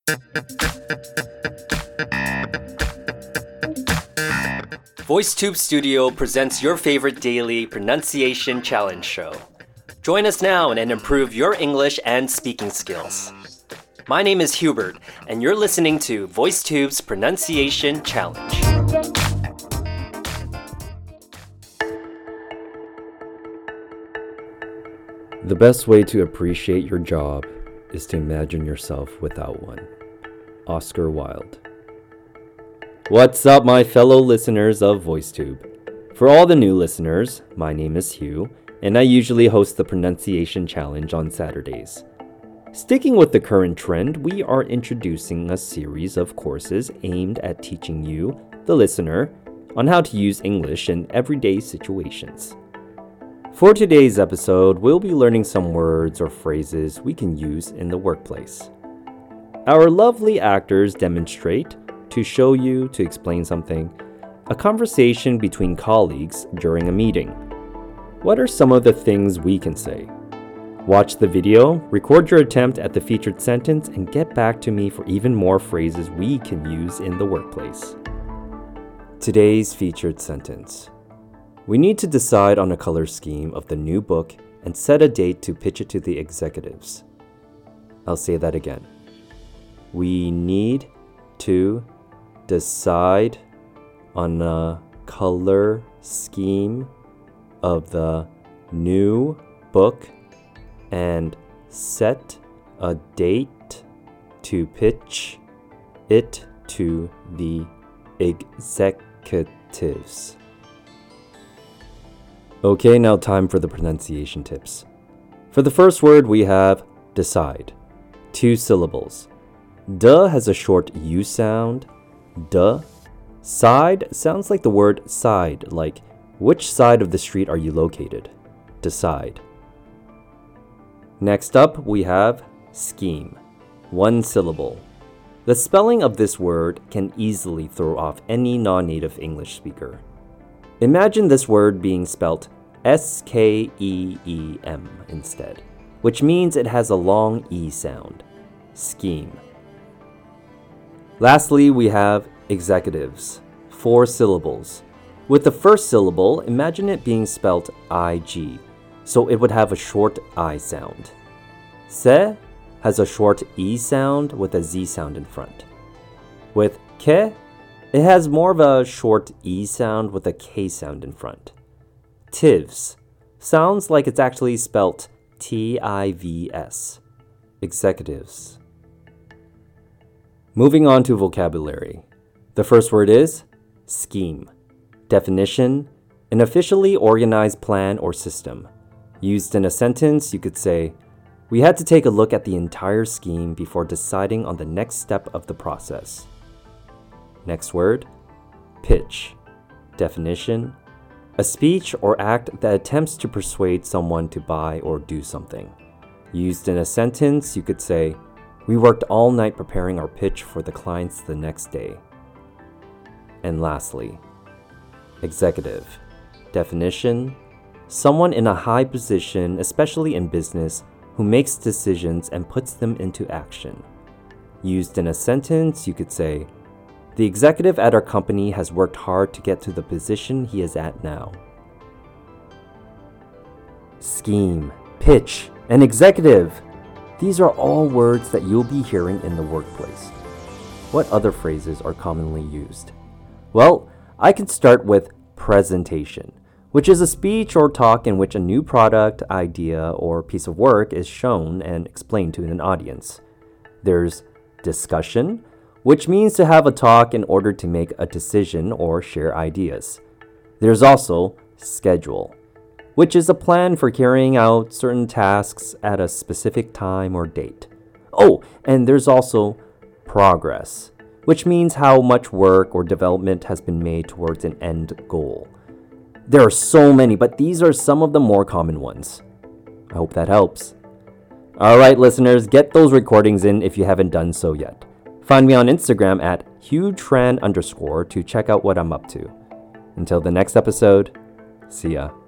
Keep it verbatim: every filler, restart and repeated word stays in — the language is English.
VoiceTube Studio presents your favorite daily pronunciation challenge show. Join us now and improve your English and speaking skills. My name is Hubert, and you're listening to VoiceTube's Pronunciation Challenge. The best way to appreciate your job is to imagine yourself without one. Oscar Wilde. What's up, my fellow listeners of VoiceTube? For all the new listeners, my name is Hugh, and I usually host the Pronunciation Challenge on Saturdays. Sticking with the current trend, we are introducing a series of courses aimed at teaching you, the listener, on how to use English in everyday situations. For today's episode, we'll be learning some words or phrases we can use in the workplace. Our lovely actors demonstrate, to show you, to explain something, a conversation between colleagues during a meeting. What are some of the things we can say? Watch the video, record your attempt at the featured sentence, and get back to me for even more phrases we can use in the workplace. Today's featured sentence. We need to decide on a color scheme of the new book and set a date to pitch it to the executives. I'll say that again. We need to decide on a color scheme of the new book and set a date to pitch it to the executives. Okay, now time for the pronunciation tips. For the first word, we have decide. Two syllables. Duh has a short U sound. Duh. Side sounds like the word side, like which side of the street are you located? Decide. Next up, we have scheme. One syllable. The spelling of this word can easily throw off any non-native English speaker. Imagine this word being spelt S K E E M instead, which means it has a long E sound. Scheme. Lastly, we have executives. Four syllables. With the first syllable, imagine it being spelt I G, so it would have a short I sound. Se has a short E sound with a Z sound in front. With ke, it has more of a short E sound with a K sound in front. Tivs sounds like it's actually spelt T I V S. Executives. Moving on to vocabulary. The first word is scheme. Definition: an officially organized plan or system. Used in a sentence, you could say, we had to take a look at the entire scheme before deciding on the next step of the process. Next word, pitch. Definition: a speech or act that attempts to persuade someone to buy or do something. Used in a sentence, you could say, we worked all night preparing our pitch for the clients the next day. And lastly, executive. Definition: someone in a high position, especially in business, who makes decisions and puts them into action. Used in a sentence, you could say, the executive at our company has worked hard to get to the position he is at now. Scheme, pitch, and executive. These are all words that you'll be hearing in the workplace. What other phrases are commonly used? Well, I can start with presentation, which is a speech or talk in which a new product, idea, or piece of work is shown and explained to an audience. There's discussion, which means to have a talk in order to make a decision or share ideas. There's also schedule, which is a plan for carrying out certain tasks at a specific time or date. Oh, and there's also progress, which means how much work or development has been made towards an end goal. There are so many, but these are some of the more common ones. I hope that helps. All right, listeners, get those recordings in if you haven't done so yet. Find me on Instagram at HughTran underscore to check out what I'm up to. Until the next episode, see ya.